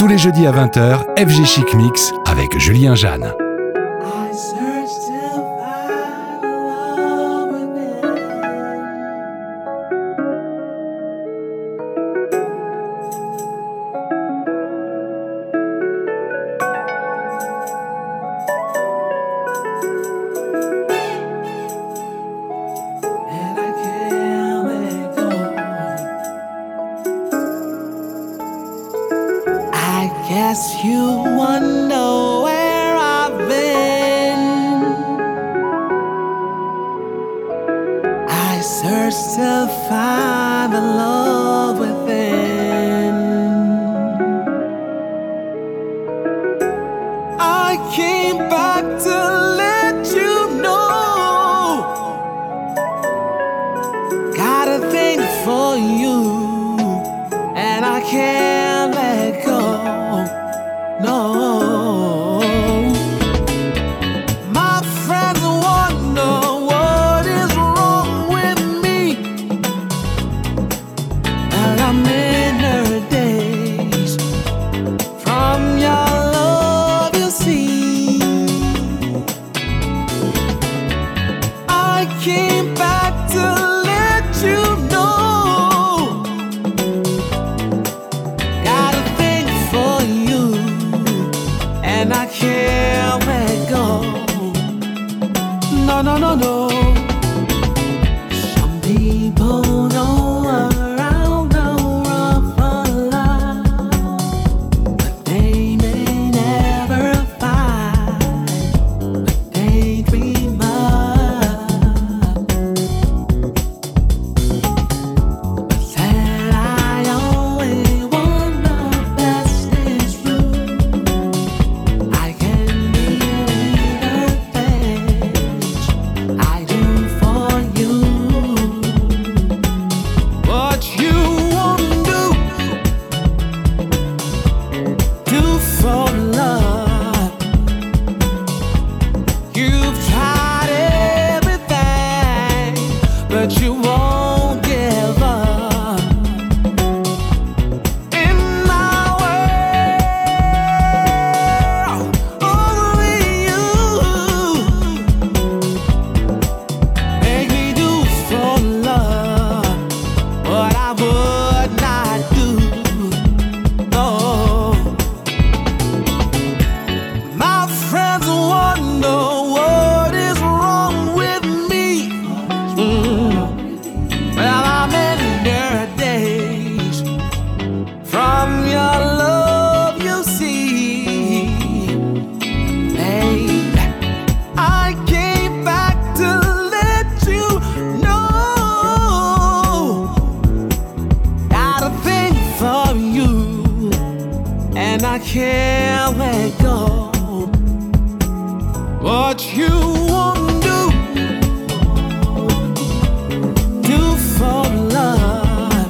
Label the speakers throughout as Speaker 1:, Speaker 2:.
Speaker 1: Tous les jeudis à 20h, FG Chic Mix avec Julien Jeanne.
Speaker 2: Guess you wonder where I've been. I search to find the love within. I came back to let you know. Got a thing for you, and I can't let go. No, my friends wonder what is wrong with me. And I'm in her days from your love, you see. I came back to let you know. Got a thing for you, and I can't let go. No, no, no, no. Some people go around the world for love, but they may never find what they dream of. But then I always want the best is you. I can be the things I do for you. What you won't do for love. You've tried everything, but you won't give up. In my world, only you make me do for love what I would not do. No, my friends wonder what is wrong with me. Well, I'm in their days from your love, you see. Hey, I came back to let you know. Got a thing for you, and I can't let go. What you won't do for love.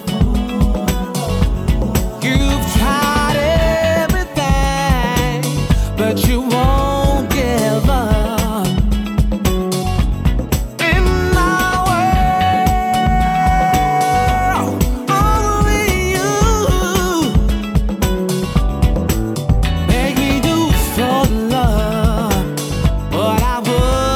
Speaker 2: You've tried everything, but you won't give up. In my world, only you make me do for love what I would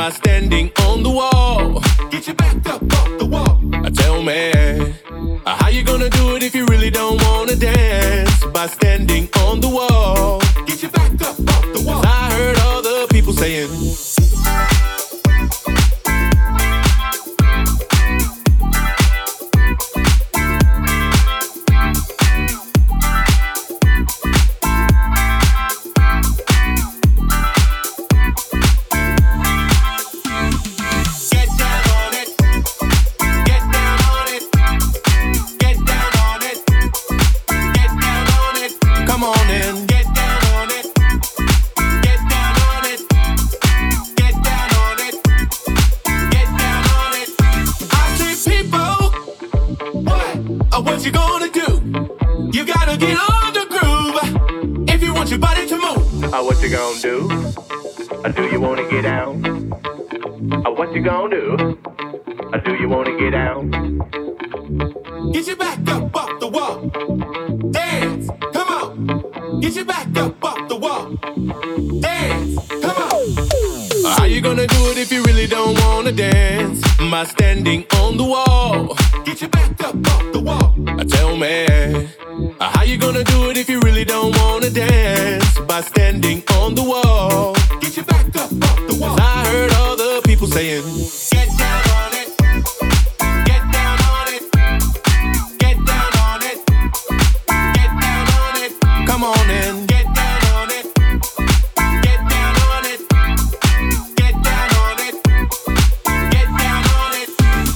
Speaker 3: Am I standing on the wall? Get your back up off the wall. Tell me, how you gonna do it if you really don't wanna dance? By standing on the wall. Get your back up off the wall. I heard all the people saying, what you gonna do? You gotta get on the groove if you want your body to move. What you gonna do? Do you wanna get out? What you gonna do? Do you wanna get out? Get your back up off the wall. Dance, come on. Get your back up off the wall. Dance, come on. How you gonna do it if you really don't wanna dance? By standing on the wall. Get your back up off the wall. Tell me, how you gonna do it if you really don't wanna dance? By standing on the wall. Get your back up off the wall. I heard all the people saying, get down on it. Get down on it. Get down on it. Get down on it. Come on in. Get down on it. Get down on it. Get down on it. Get down on it.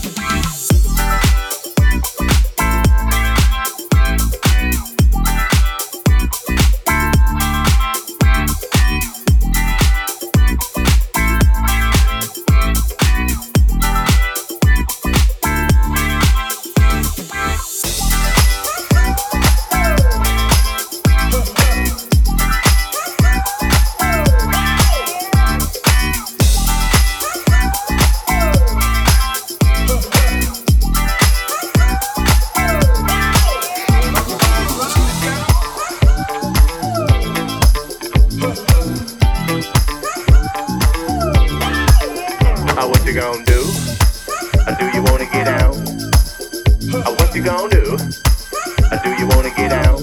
Speaker 3: What you gonna do? Do you wanna get out? What you gonna do? Do you wanna get out?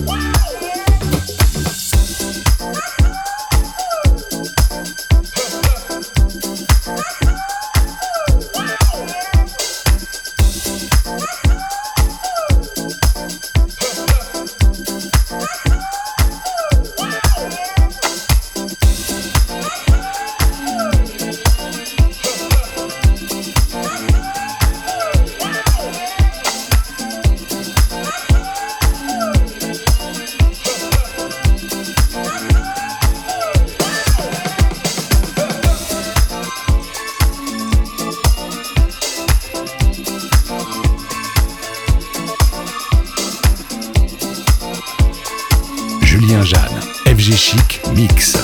Speaker 1: Julien Jeanne, FG Chic Mix.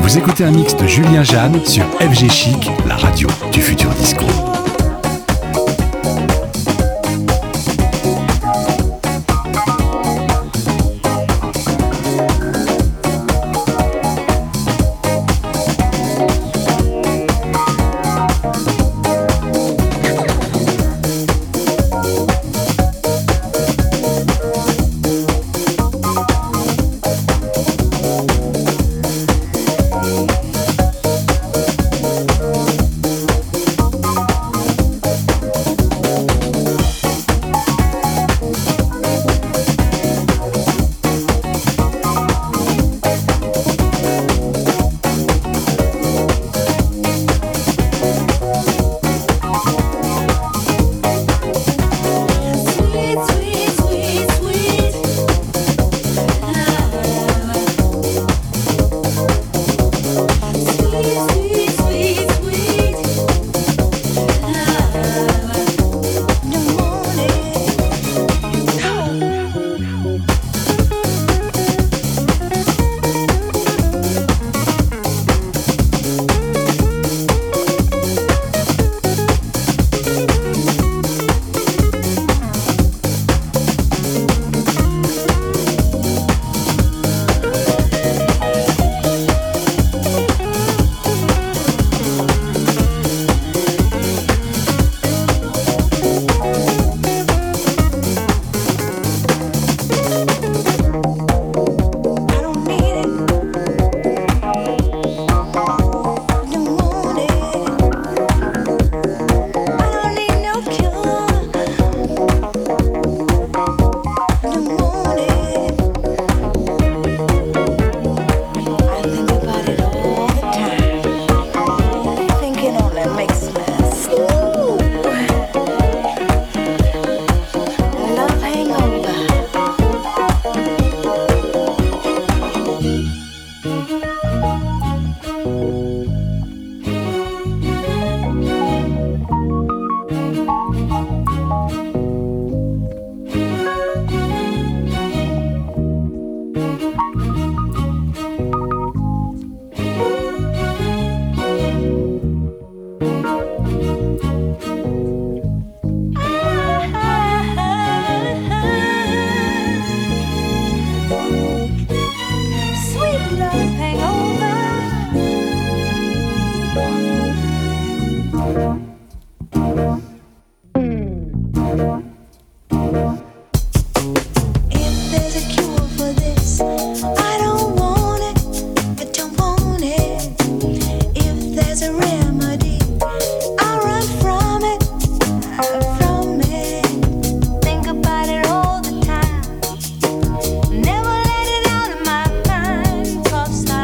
Speaker 1: Vous écoutez un mix de Julien Jeanne sur FG Chic, la radio du futur disco.
Speaker 4: Never let it out of my mind, 'cause I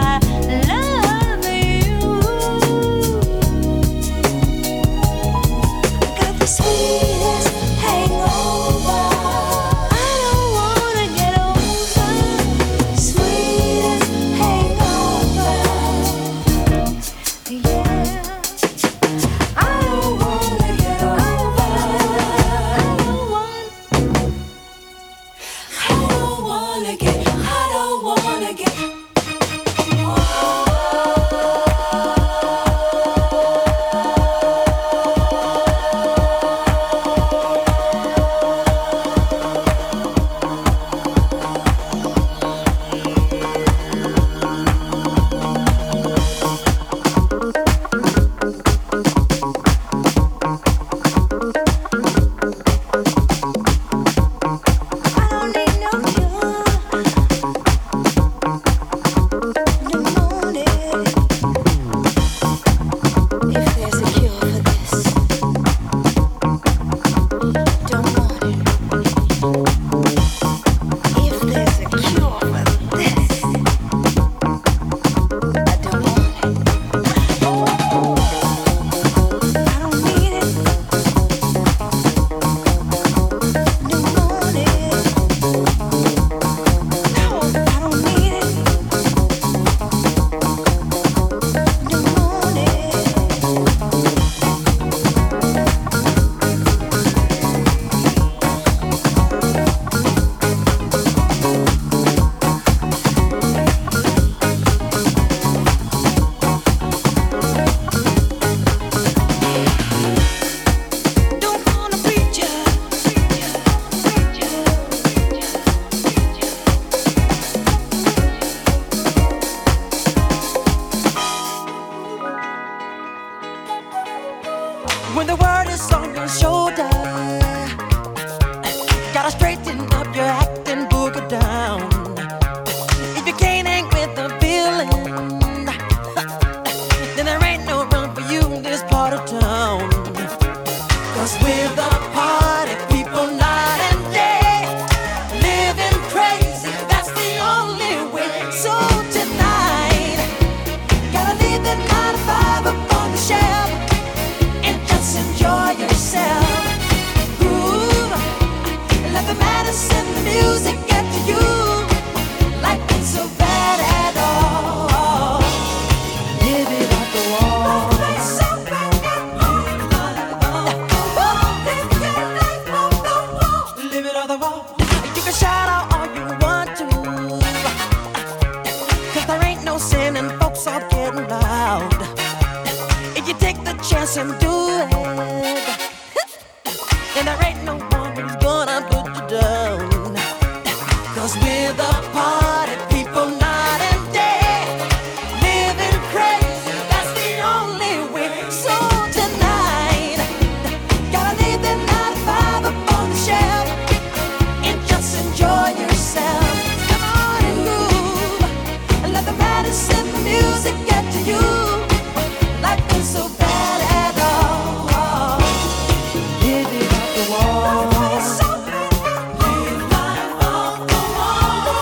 Speaker 4: chance and do it. And there ain't no one who's gonna put you down. 'Cause we're the party people night and day. Living crazy, that's the only way. So tonight, gotta leave the 9 to 5 up on the shelf and just enjoy yourself. Come on and move, and let the madness in the music get to you. Life ain't so bad at all. Live it off the wall. Live life off the wall.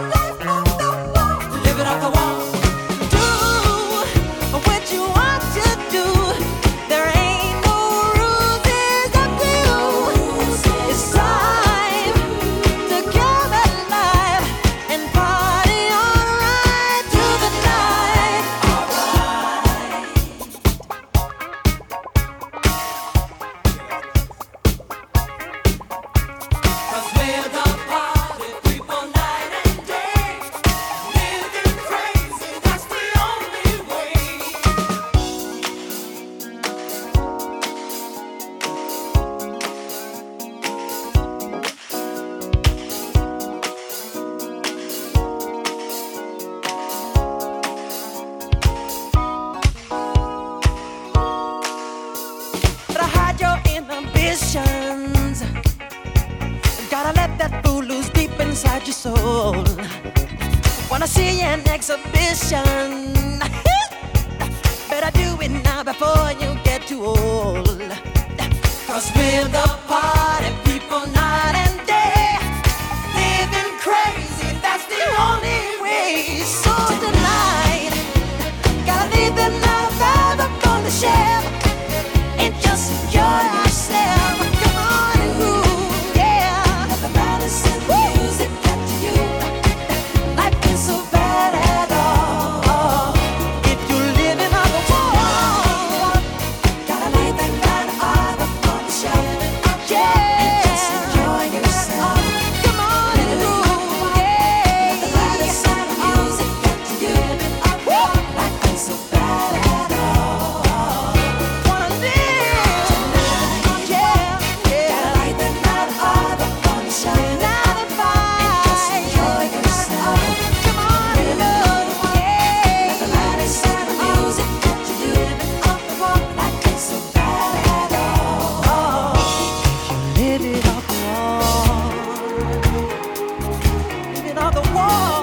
Speaker 4: Live it off the wall. Do what you want to do. There ain't no rules, it's up to you. It's time to come alive and party alright through the night. Alright. 'Cause we're the party people night and day. Living crazy, that's the only way. Gotta hide your inhibitions. Gotta let that fool loose deep inside your soul. Wanna see an exhibition? Better do it now before you get too old. 'Cause we're the party people night and day. Living crazy, that's the only way. So tonight, gotta leave the 9 to 5 up on the shelf and just enjoy yourself. Come on and move, yeah. Let the madness in the music get to you. Life ain't so bad at all. If you're living on the wall, gotta leave the 9 to 5 up on the shelf, yeah. And just enjoy yourself. Come on and move, yeah. Let the madness in the music get to you. Life ain't so bad at all. Wanna live tonight, yeah, yeah. Gotta leave the 9 to 5 up on the shelf, 9 to 5, and just enjoy yourself. Come on and move, yeah. Let the madness in the music get to you. Off the wall, life ain't so bad at all. Live it off the wall. Live it off the wall.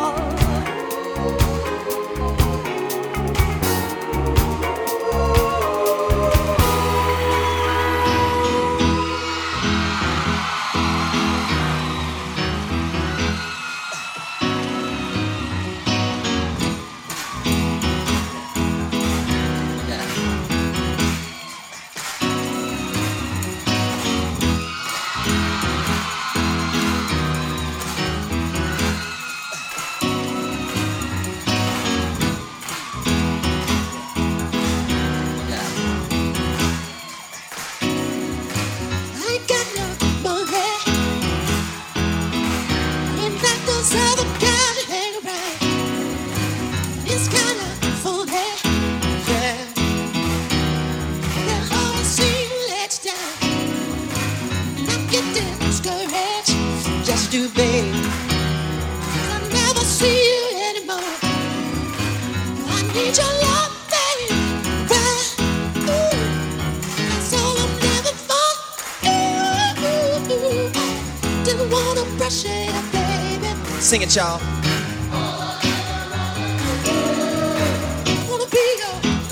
Speaker 4: I got no money, and that those other guys hang around. It's kind of funny, yeah. They always seem to let you down, and I'm getting discouraged. Just too bad, 'cause I never see you anymore. I need your love, baby. Right? Ooh. That's all I'm living for. Ooh, didn't wanna brush it up, baby.
Speaker 5: Sing it, y'all.
Speaker 4: Wanna be your,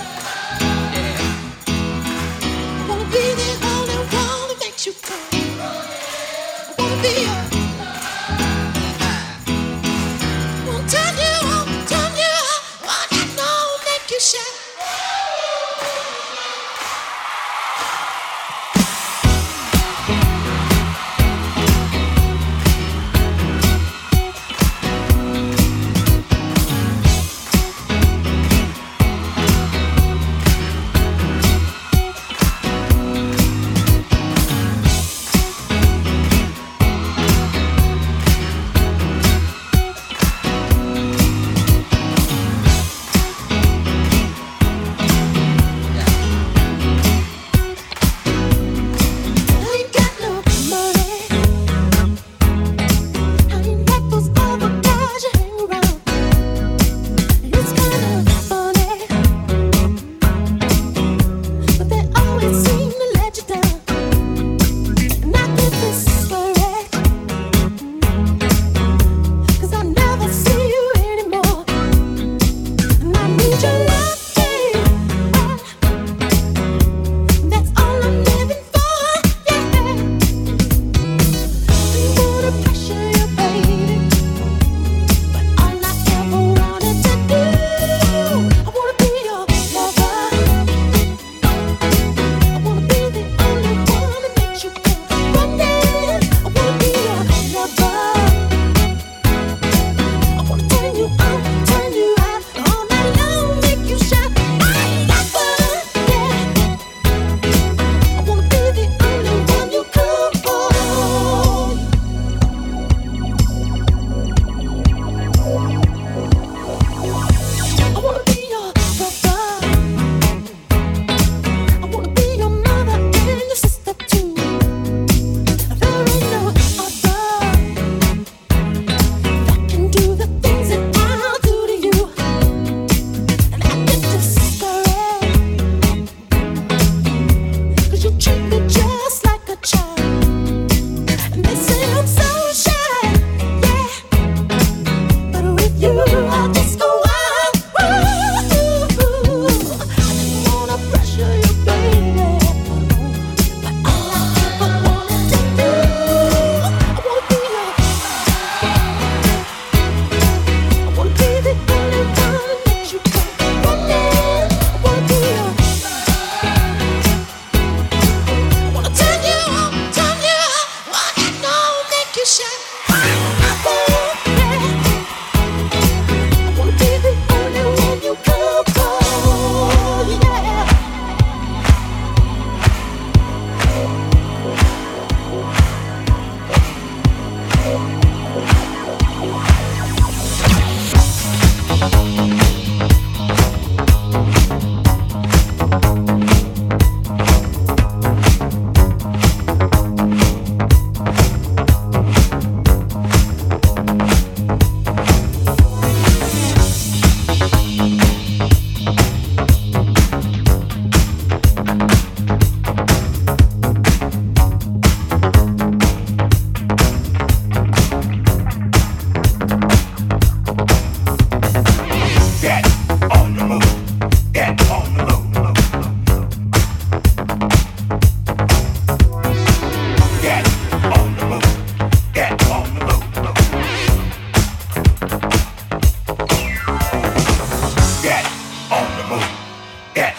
Speaker 4: wanna be the only one that makes you come. Wanna be your, wanna turn you on, wanna know, make you shine.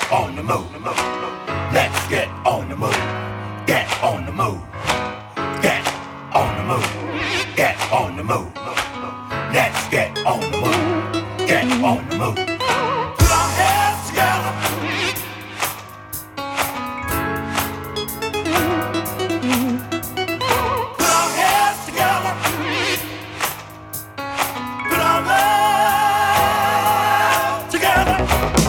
Speaker 3: on the move. Let's get on the move. Get on the move. Get on the move. Get on the move. Let's get on the move. Get on the move. Put our hands together. Put our hands together. Put our love together.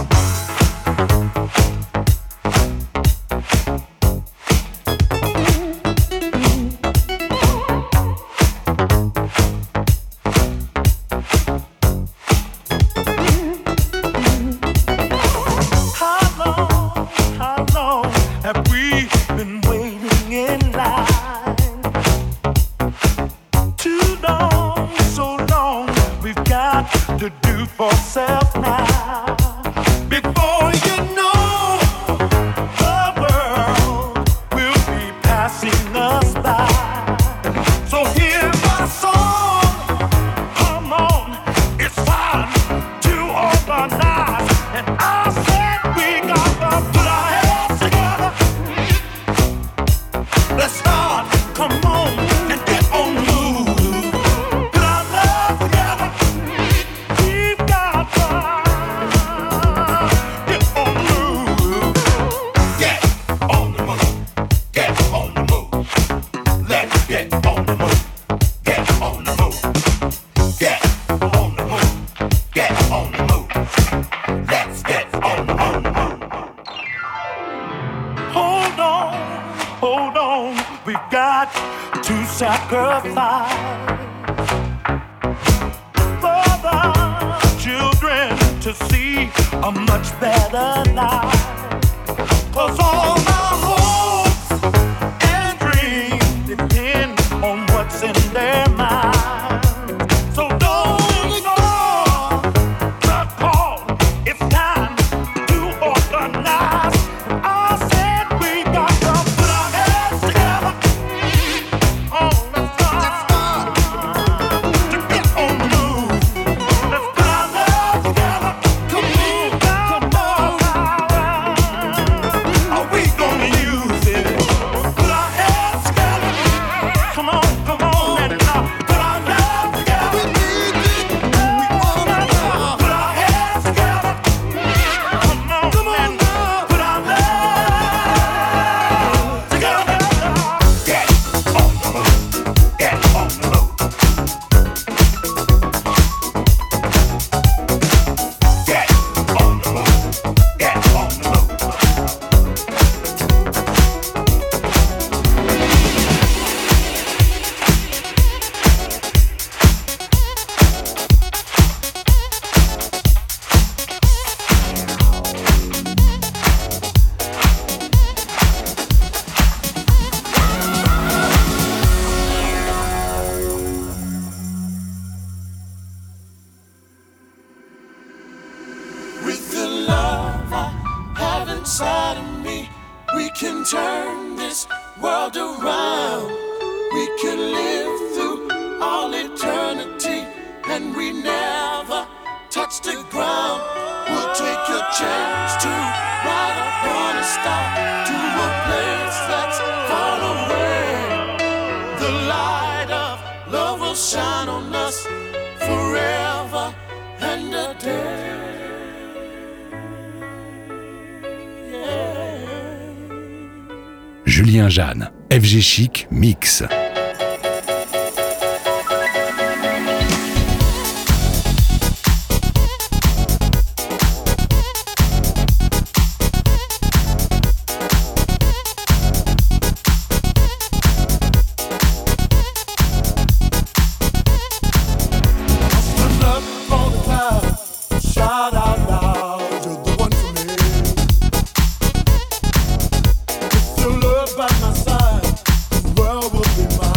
Speaker 3: To do for self now. Before you know, the world will be passing us by. So hear my song, come on, it's time to organize. And I said we got to put our heads together. Let's start, come on, and get on the move. Put our love together. Sacrifice for the children to see a much better life. 'Cause all my hopes and dreams depend on what's in their mind. So don't ignore the call. It's time to organize. I said we got to put our heads together.
Speaker 1: Julien Jeanne, FG Chic Mix.
Speaker 3: By my side, the world will be mine.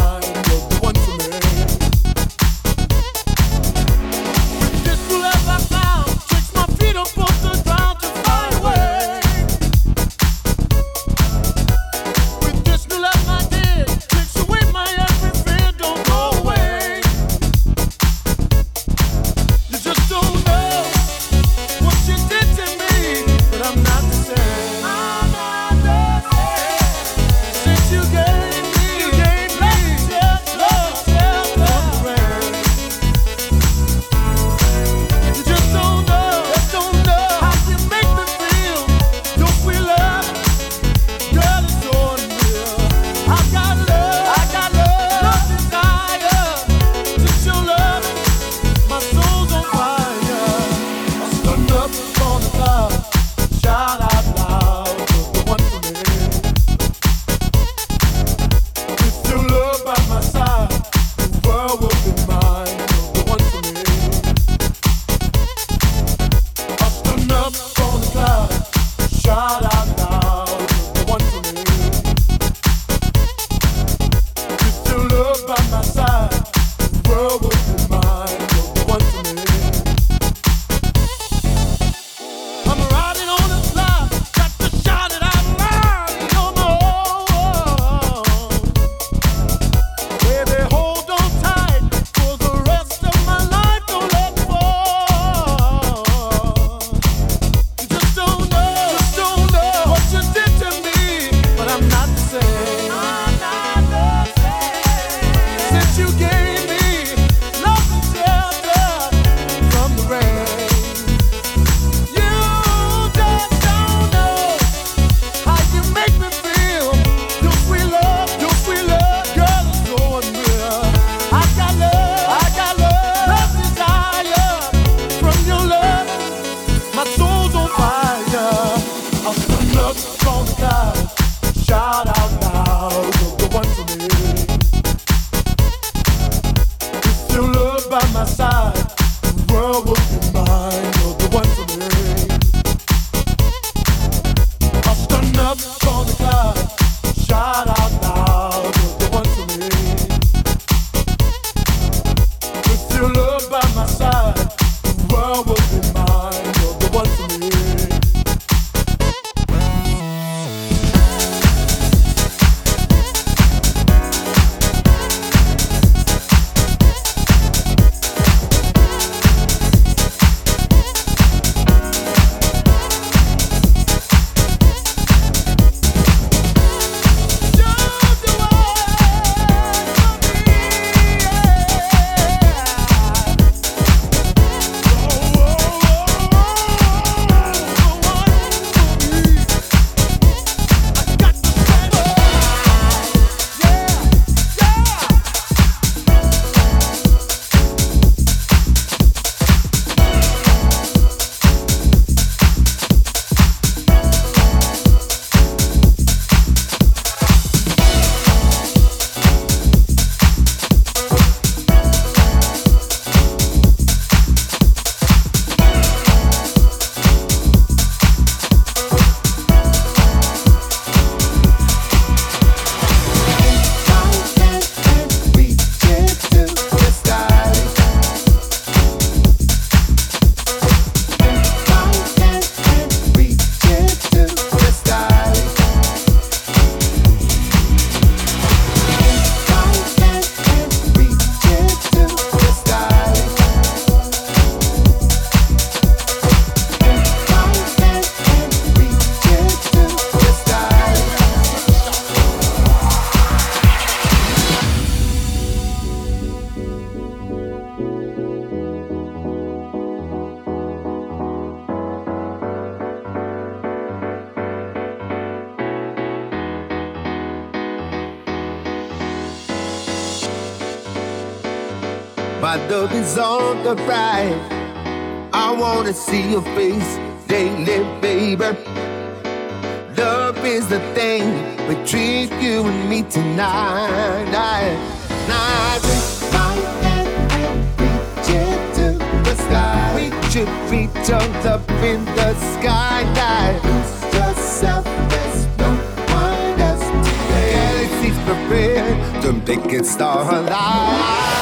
Speaker 5: My love is on the rise. I wanna see your face daily, baby. Love is the thing between you and me tonight. I reach my hand and reach it to the sky. Reach up in the sky. Lose yourself, there's no one else today. Galaxies prepared to make it starlight.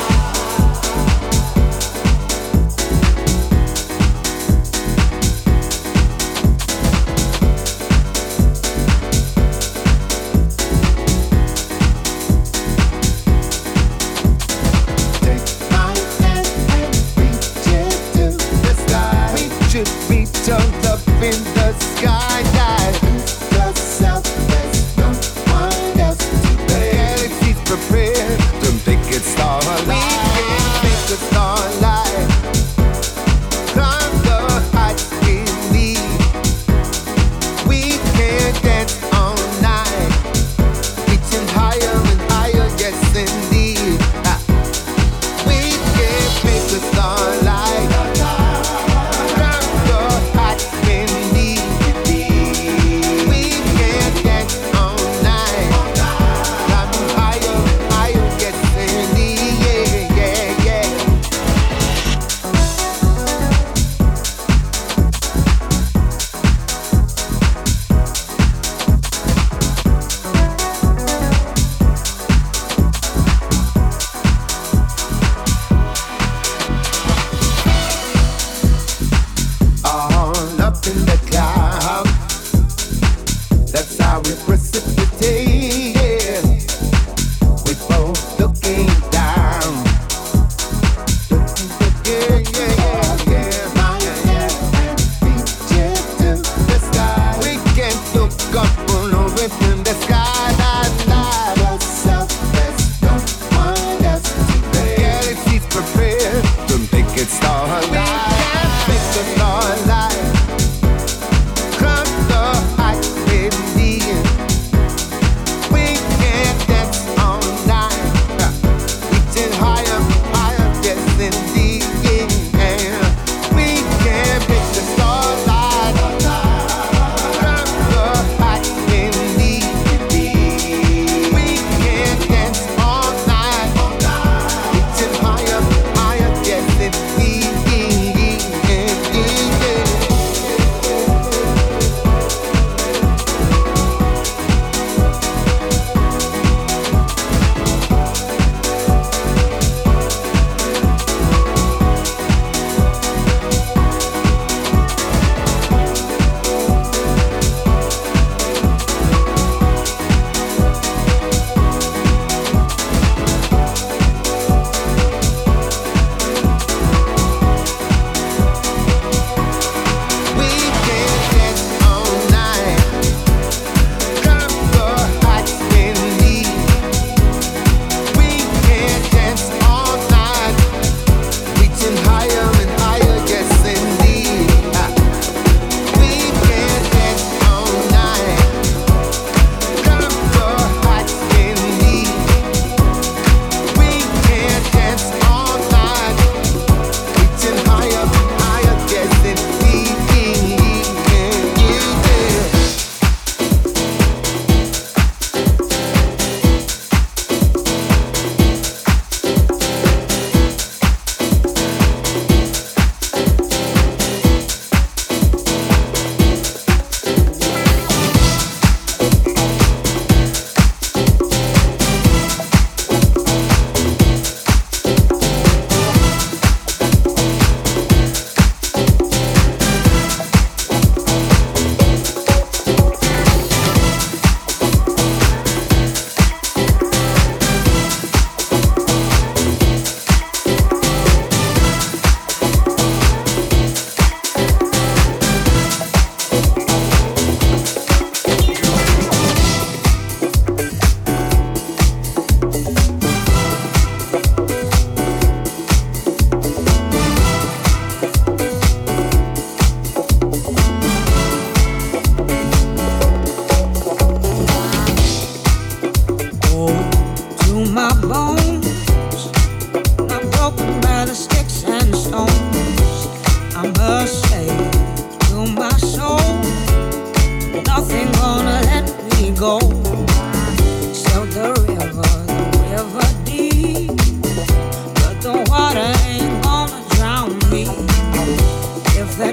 Speaker 5: Reach up in the sky, lose yourself, there's no one else today. Galaxies prepared to make it start.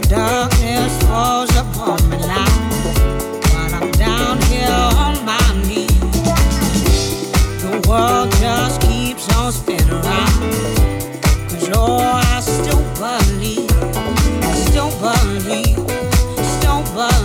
Speaker 6: darkness falls upon me now, while I'm down here on my knees. The world just keeps on spinning around, 'cause oh, I still believe, still believe, still believe.